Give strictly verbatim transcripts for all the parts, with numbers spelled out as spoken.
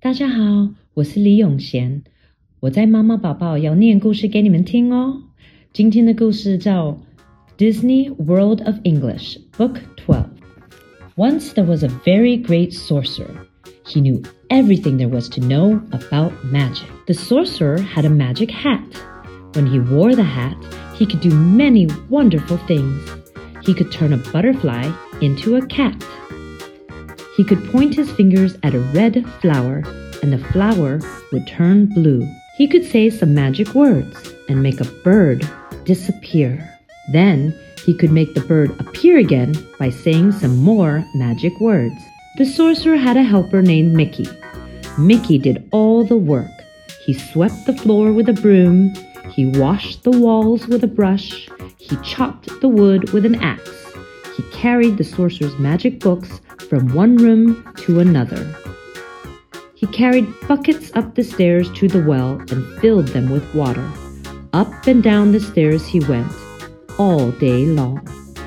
大家好，我是李永賢，我在媽媽寶寶要念故事給你們聽哦。今天的故事叫 Disney World of English, Book twelve. Once there was a very great sorcerer. He knew everything there was to know about magic. The sorcerer had a magic hat. When he wore the hat, he could do many wonderful things. He could turn a butterfly into a cat. He could point his fingers at a red flower, and the flower would turn blue. He could say some magic words and make a bird disappear. Then he could make the bird appear again by saying some more magic words. The sorcerer had a helper named Mickey. Mickey did all the work. He swept the floor with a broom. He washed the walls with a brush. He chopped the wood with an axe. He carried the sorcerer's magic books from one room to another. He carried buckets up the stairs to the well and filled them with water. Up and down the stairs he went, all day long.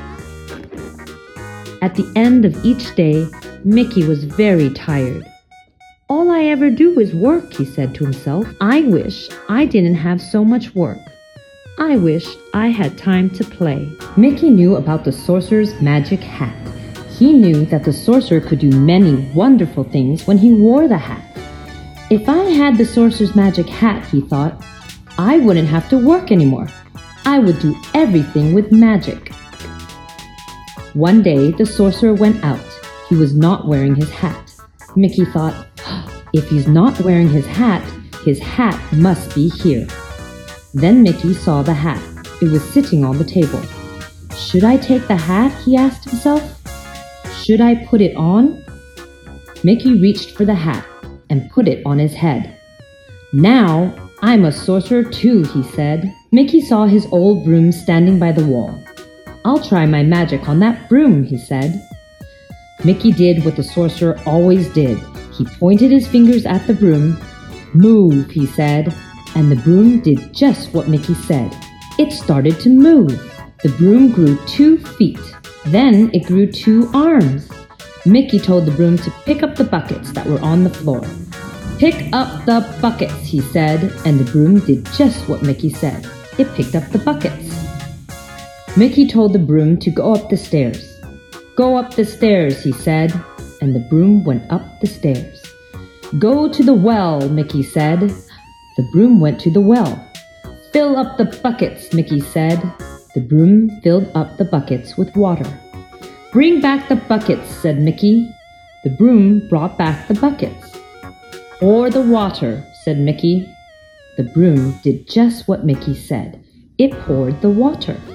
At the end of each day, Mickey was very tired. All I ever do is work, he said to himself. I wish I didn't have so much work. I wish I had time to play. Mickey knew about the sorcerer's magic hat. He knew that the sorcerer could do many wonderful things when he wore the hat. If I had the sorcerer's magic hat, he thought, I wouldn't have to work anymore. I would do everything with magic. One day, the sorcerer went out. He was not wearing his hat. Mickey thought, if he's not wearing his hat, his hat must be here. Then Mickey saw the hat. It was sitting on the table. Should I take the hat? He asked himself. Should I put it on? Mickey reached for the hat and put it on his head. Now I'm a sorcerer too, he said. Mickey saw his old broom standing by the wall. I'll try my magic on that broom, he said. Mickey did what the sorcerer always did. He pointed his fingers at the broom. Move, he said, and the broom did just what Mickey said. It started to move. The broom grew two feet. Then it grew two arms. Mickey told the broom to pick up the buckets that were on the floor. Pick up the buckets, he said, and the broom did just what Mickey said. It picked up the buckets. Mickey told the broom to go up the stairs. Go up the stairs, he said, and the broom went up the stairs. Go to the well, Mickey said. The broom went to the well. Fill up the buckets, Mickey said. The broom filled up the buckets with water. Bring back the buckets, said Mickey. The broom brought back the buckets. Pour the water, said Mickey. The broom did just what Mickey said. It poured the water.